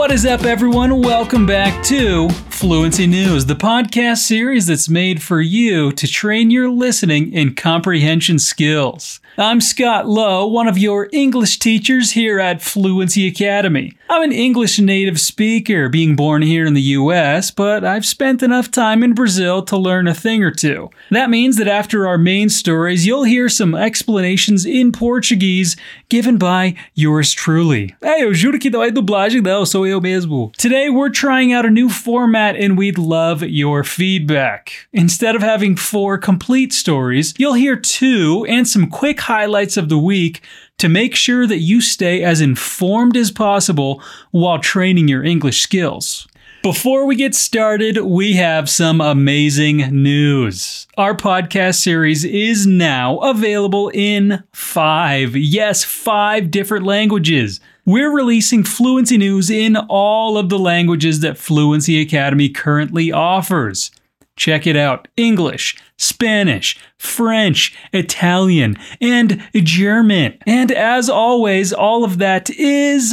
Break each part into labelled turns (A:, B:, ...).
A: What is up, everyone? Welcome back to Fluency News, the podcast series that's made for you to train your listening and comprehension skills. I'm Scott Lowe, one of your English teachers here at Fluency Academy. I'm an English native speaker, being born here in the US, but I've spent enough time in Brazil to learn a thing or two. That means that after our main stories, you'll hear some explanations in Portuguese given by yours truly. Eu juro que não é dublagem não, sou eu mesmo. Today we're trying out a new format and we'd love your feedback. Instead of having 4 complete stories, you'll hear 2 and some quick highlights of the week to make sure that you stay as informed as possible while training your English skills. Before we get started, we have some amazing news. Our podcast series is now available in 5 different languages. We're releasing Fluency News in all of the languages that Fluency Academy currently offers. Check it out: English, Spanish, French, Italian, and German. And as always, all of that is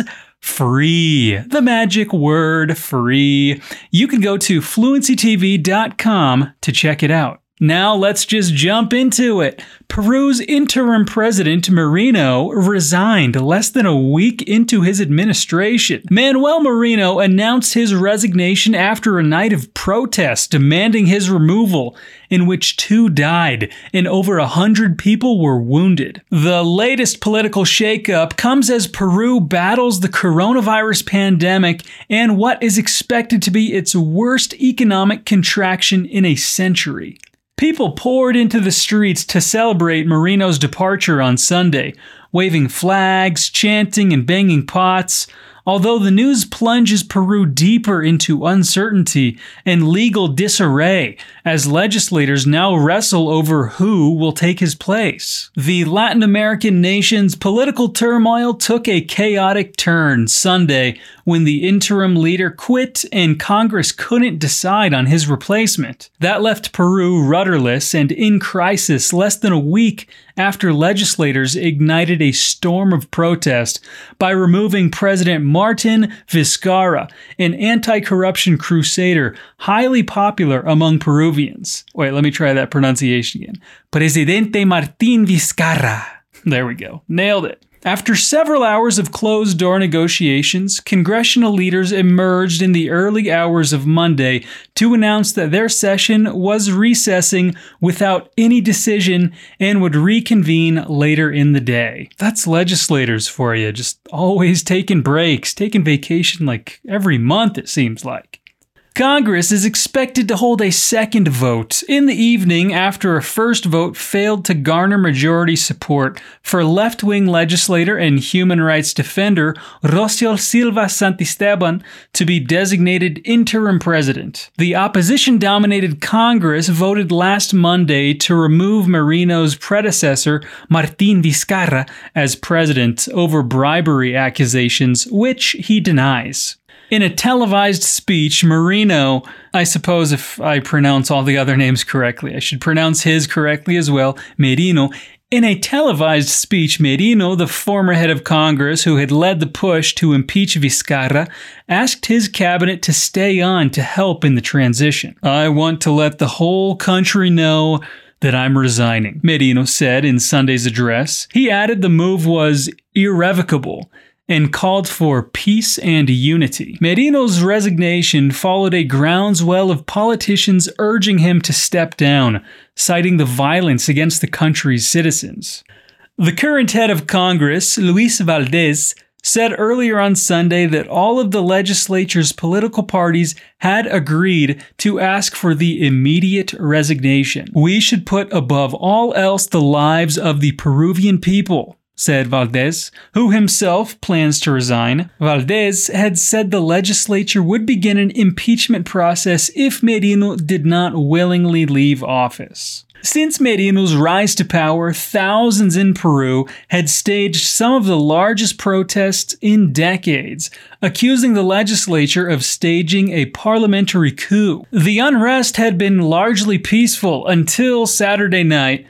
A: free. The magic word, free. You can go to fluencytv.com to check it out. Now let's just jump into it. Peru's interim president, Merino, resigned less than a week into his administration. Manuel Merino announced his resignation after a night of protest demanding his removal, in which 2 died and over 100 people were wounded. The latest political shakeup comes as Peru battles the coronavirus pandemic and what is expected to be its worst economic contraction in a century. People poured into the streets to celebrate Merino's departure on Sunday, waving flags, chanting, and banging pots. Although the news plunges Peru deeper into uncertainty and legal disarray as legislators now wrestle over who will take his place. The Latin American nation's political turmoil took a chaotic turn Sunday when the interim leader quit and Congress couldn't decide on his replacement. That left Peru rudderless and in crisis less than a week after legislators ignited a storm of protest by removing President Martin Vizcarra, an anti-corruption crusader highly popular among Peruvians. Wait, let me try that pronunciation again. Presidente Martín Vizcarra. There we go. Nailed it. After several hours of closed-door negotiations, congressional leaders emerged in the early hours of Monday to announce that their session was recessing without any decision and would reconvene later in the day. That's legislators for you, just always taking breaks, taking vacation like every month it seems like. Congress is expected to hold a second vote in the evening after a first vote failed to garner majority support for left-wing legislator and human rights defender Rocio Silva Santisteban to be designated interim president. The opposition-dominated Congress voted last Monday to remove Merino's predecessor, Martín Vizcarra, as president over bribery accusations, which he denies. In a televised speech, Merino, I suppose if I pronounce all the other names correctly, I should pronounce his correctly as well, Merino. In a televised speech, Merino, the former head of Congress who had led the push to impeach Vizcarra, asked his cabinet to stay on to help in the transition. "I want to let the whole country know that I'm resigning," Merino said in Sunday's address. He added the move was irrevocable and called for peace and unity. Merino's resignation followed a groundswell of politicians urging him to step down, citing the violence against the country's citizens. The current head of Congress, Luis Valdez, said earlier on Sunday that all of the legislature's political parties had agreed to ask for the immediate resignation. "We should put above all else the lives of the Peruvian people," said Valdez, who himself plans to resign. Valdez had said the legislature would begin an impeachment process if Merino did not willingly leave office. Since Merino's rise to power, thousands in Peru had staged some of the largest protests in decades, accusing the legislature of staging a parliamentary coup. The unrest had been largely peaceful until Saturday night,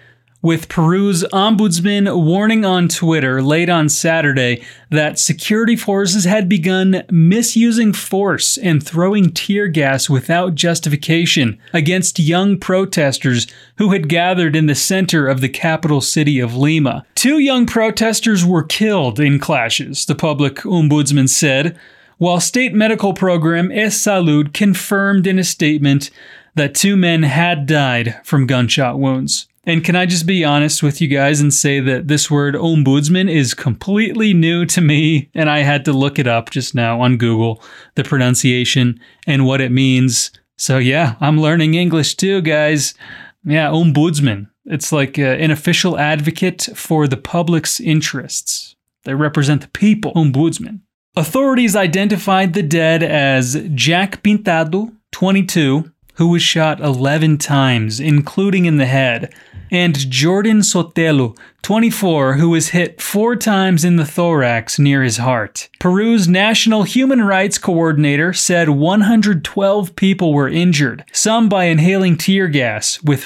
A: with Peru's ombudsman warning on Twitter late on Saturday that security forces had begun misusing force and throwing tear gas without justification against young protesters who had gathered in the center of the capital city of Lima. 2 young protesters were killed in clashes, the public ombudsman said, while state medical program EsSalud confirmed in a statement that 2 men had died from gunshot wounds. And can I just be honest with you guys and say that this word ombudsman is completely new to me, and I had to look it up just now on Google, the pronunciation and what it means. So yeah, I'm learning English too, guys. Yeah, ombudsman. It's like an official advocate for the public's interests. They represent the people. Ombudsman. Authorities identified the dead as Jack Pintado, 22, who was shot 11 times, including in the head, and Jordan Sotelo, 24, who was hit 4 times in the thorax near his heart. Peru's National Human Rights Coordinator said 112 people were injured, some by inhaling tear gas, with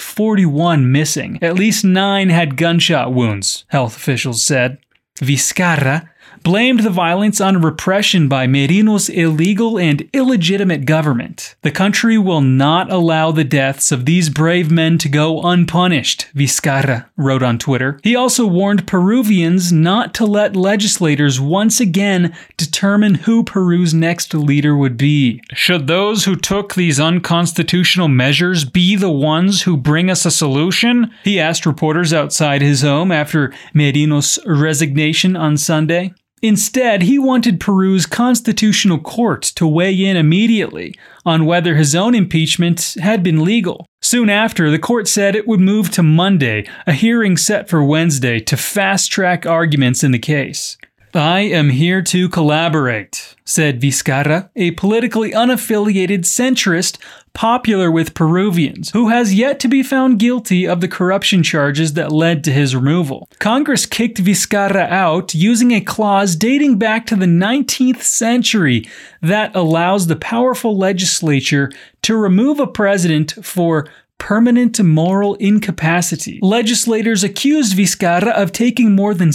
A: 41 missing. At least 9 had gunshot wounds, health officials said. Vizcarra blamed the violence on repression by Merino's illegal and illegitimate government. The country will not allow the deaths of these brave men to go unpunished, Vizcarra wrote on Twitter. He also warned Peruvians not to let legislators once again determine who Peru's next leader would be. Should those who took these unconstitutional measures be the ones who bring us a solution? He asked reporters outside his home after Merino's resignation on Sunday. Instead, he wanted Peru's constitutional court to weigh in immediately on whether his own impeachment had been legal. Soon after, the court said it would move to Monday, a hearing set for Wednesday, to fast-track arguments in the case. I am here to collaborate, said Vizcarra, a politically unaffiliated centrist popular with Peruvians, who has yet to be found guilty of the corruption charges that led to his removal. Congress kicked Vizcarra out using a clause dating back to the 19th century that allows the powerful legislature to remove a president for permanent moral incapacity. Legislators accused Vizcarra of taking more than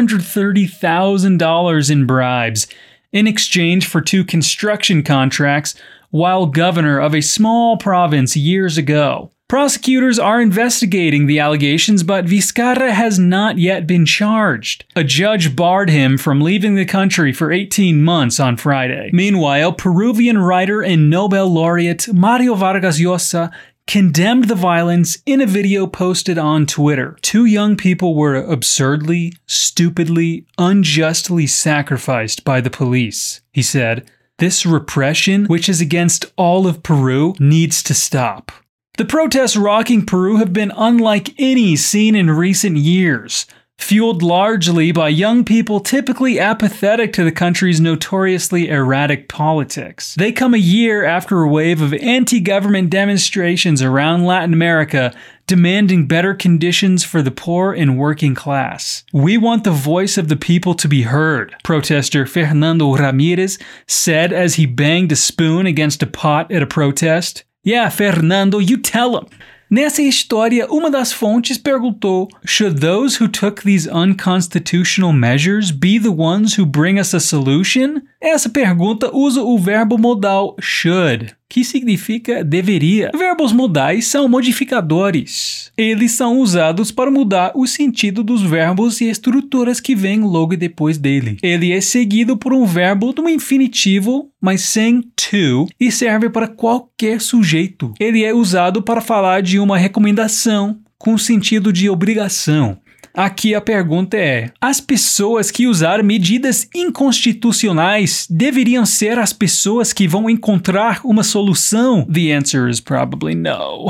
A: $630,000 in bribes in exchange for 2 construction contracts while governor of a small province years ago. Prosecutors are investigating the allegations, but Vizcarra has not yet been charged. A judge barred him from leaving the country for 18 months on Friday. Meanwhile, Peruvian writer and Nobel laureate Mario Vargas Llosa condemned the violence in a video posted on Twitter. 2 young people were absurdly, stupidly, unjustly sacrificed by the police, he said. This repression, which is against all of Peru, needs to stop. The protests rocking Peru have been unlike any seen in recent years, fueled largely by young people typically apathetic to the country's notoriously erratic politics. They come a year after a wave of anti-government demonstrations around Latin America demanding better conditions for the poor and working class. We want the voice of the people to be heard, protester Fernando Ramirez said as he banged a spoon against a pot at a protest. Yeah, Fernando, you tell him. Nessa história, uma das fontes perguntou, should those who took these unconstitutional measures be the ones who bring us a solution? Essa pergunta usa o verbo modal should, que significa deveria. Verbos modais são modificadores. Eles são usados para mudar o sentido dos verbos e estruturas que vêm logo depois dele. Ele é seguido por um verbo do infinitivo, mas sem to, e serve para qualquer sujeito. Ele é usado para falar de uma recomendação com sentido de obrigação. Aqui a pergunta é: as pessoas que usaram medidas inconstitucionais deveriam ser as pessoas que vão encontrar uma solução? The answer is probably no.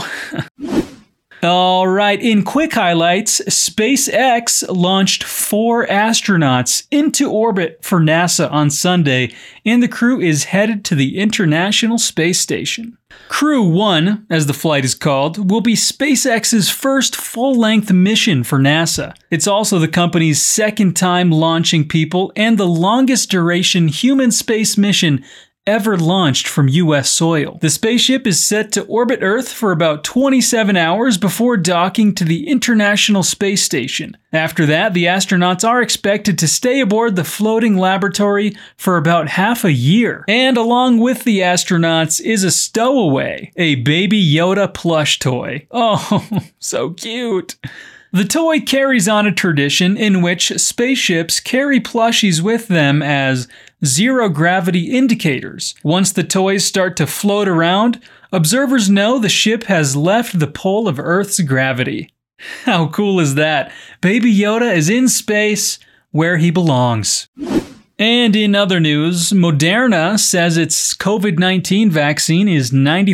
A: All right, in quick highlights, SpaceX launched 4 astronauts into orbit for NASA on Sunday, and the crew is headed to the International Space Station. Crew 1, as the flight is called, will be SpaceX's first full-length mission for NASA. It's also the company's second time launching people and the longest duration human space mission ever launched from U.S. soil. The spaceship is set to orbit Earth for about 27 hours before docking to the International Space Station. After that, the astronauts are expected to stay aboard the floating laboratory for about half a year. And along with the astronauts is a stowaway, a Baby Yoda plush toy. Oh, so cute. The toy carries on a tradition in which spaceships carry plushies with them as zero-gravity indicators. Once the toys start to float around, observers know the ship has left the pole of Earth's gravity. How cool is that? Baby Yoda is in space where he belongs. And in other news, Moderna says its COVID-19 vaccine is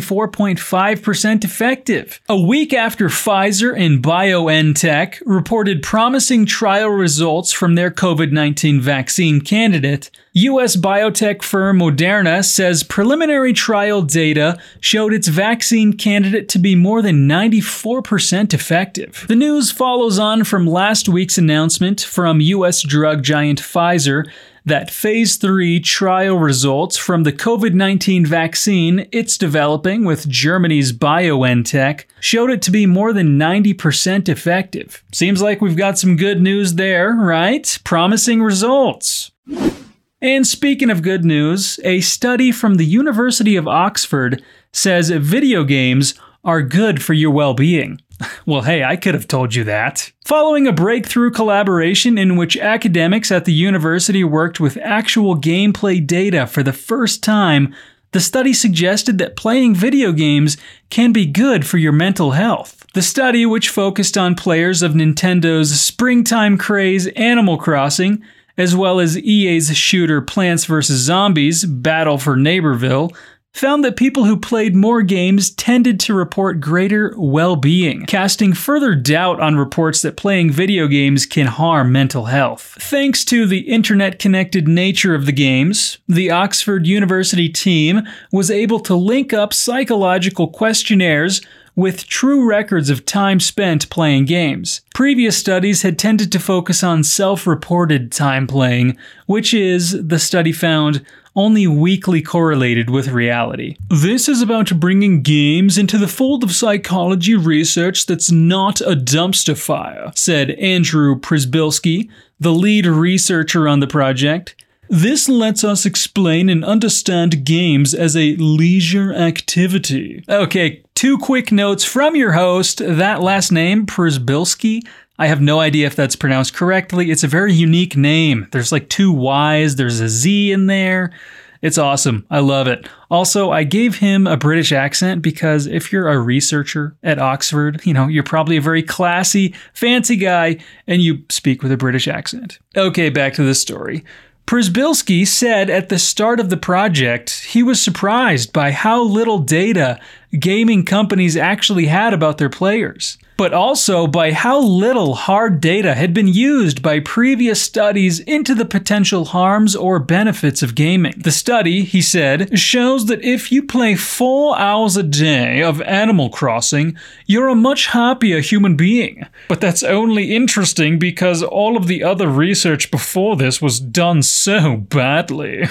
A: 94.5% effective. A week after Pfizer and BioNTech reported promising trial results from their COVID-19 vaccine candidate, U.S. biotech firm Moderna says preliminary trial data showed its vaccine candidate to be more than 94% effective. The news follows on from last week's announcement from U.S. drug giant Pfizer that Phase 3 trial results from the COVID-19 vaccine it's developing with Germany's BioNTech showed it to be more than 90% effective. Seems like we've got some good news there, right? Promising results. And speaking of good news, a study from the University of Oxford says video games are good for your well-being. Well, hey, I could have told you that. Following a breakthrough collaboration in which academics at the university worked with actual gameplay data for the first time, the study suggested that playing video games can be good for your mental health. The study, which focused on players of Nintendo's springtime craze Animal Crossing, as well as EA's shooter Plants vs. Zombies Battle for Neighborville, found that people who played more games tended to report greater well-being, casting further doubt on reports that playing video games can harm mental health. Thanks to the internet-connected nature of the games, the Oxford University team was able to link up psychological questionnaires with true records of time spent playing games. Previous studies had tended to focus on self-reported time playing, which is, the study found, only weakly correlated with reality. This is about bringing games into the fold of psychology research that's not a dumpster fire, said Andrew Przybylski, the lead researcher on the project. This lets us explain and understand games as a leisure activity. Okay, 2 quick notes from your host. That last name, Przybylski, I have no idea if that's pronounced correctly. It's a very unique name. There's like 2 Y's, there's a Z in there. It's awesome. I love it. Also, I gave him a British accent because if you're a researcher at Oxford, you're probably a very classy, fancy guy, and you speak with a British accent. Okay, back to the story. Przybylski said at the start of the project he was surprised by how little data gaming companies actually had about their players, but also by how little hard data had been used by previous studies into the potential harms or benefits of gaming. The study, he said, shows that if you play 4 hours a day of Animal Crossing, you're a much happier human being. But that's only interesting because all of the other research before this was done so badly.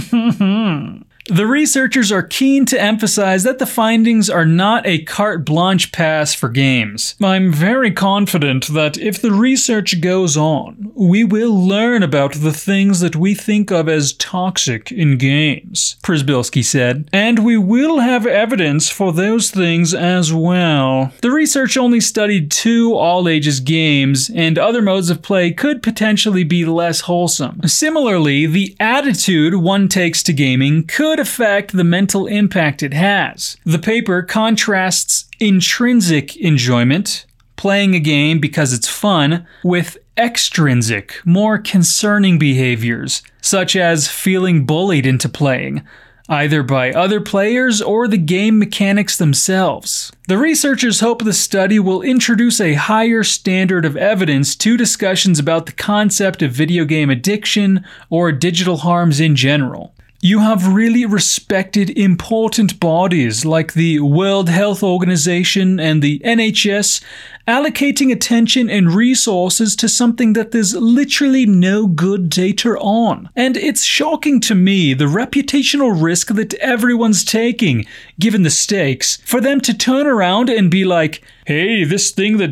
A: The researchers are keen to emphasize that the findings are not a carte blanche pass for games. I'm very confident that if the research goes on, we will learn about the things that we think of as toxic in games, Przybylski said, and we will have evidence for those things as well. The research only studied 2 all-ages games, and other modes of play could potentially be less wholesome. Similarly, the attitude one takes to gaming could affect the mental impact it has. The paper contrasts intrinsic enjoyment, playing a game because it's fun, with extrinsic, more concerning behaviors, such as feeling bullied into playing, either by other players or the game mechanics themselves. The researchers hope the study will introduce a higher standard of evidence to discussions about the concept of video game addiction or digital harms in general. You have really respected important bodies like the World Health Organization and the NHS allocating attention and resources to something that there's literally no good data on. And it's shocking to me the reputational risk that everyone's taking, given the stakes, for them to turn around and be like, hey, this thing that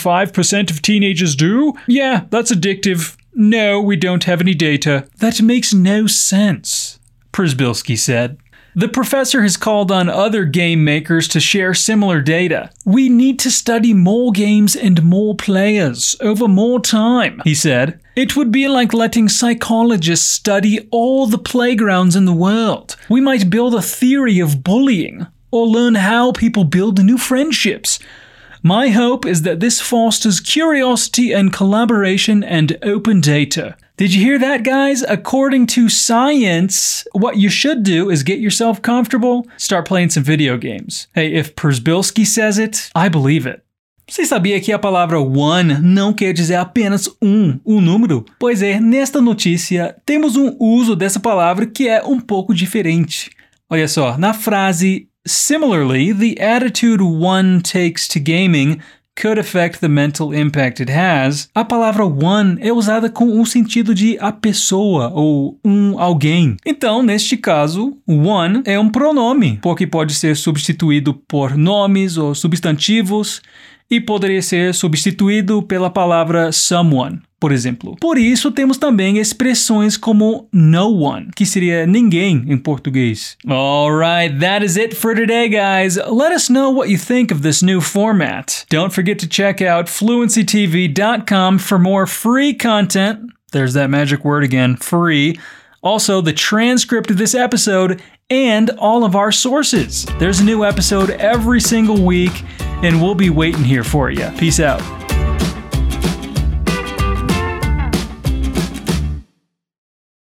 A: 95% of teenagers do? Yeah, that's addictive. No, we don't have any data. That makes no sense, Przybylski said. The professor has called on other game makers to share similar data. We need to study more games and more players over more time, he said. It would be like letting psychologists study all the playgrounds in the world. We might build a theory of bullying, or learn how people build new friendships. My hope is that this fosters curiosity and collaboration and open data. Did you hear that, guys? According to science, what you should do is get yourself comfortable, start playing some video games. Hey, if Przybylski says it, I believe it. Você sabia que a palavra one não quer dizer apenas o número? Pois é, nesta notícia, temos uso dessa palavra que é pouco diferente. Olha só, na frase similarly, the attitude one takes to gaming could affect the mental impact it has, a palavra one é usada com o sentido de a pessoa ou alguém. Então, neste caso, one é pronome, porque pode ser substituído por nomes ou substantivos e poderia ser substituído pela palavra someone, por exemplo. Por isso, temos também expressões como no one, que seria ninguém em português. Alright, that is it for today, guys. Let us know what you think of this new format. Don't forget to check out fluencytv.com for more free content. There's that magic word again, free. Also, the transcript of this episode and all of our sources. There's a new episode every single week, and we'll be waiting here for you. Peace out.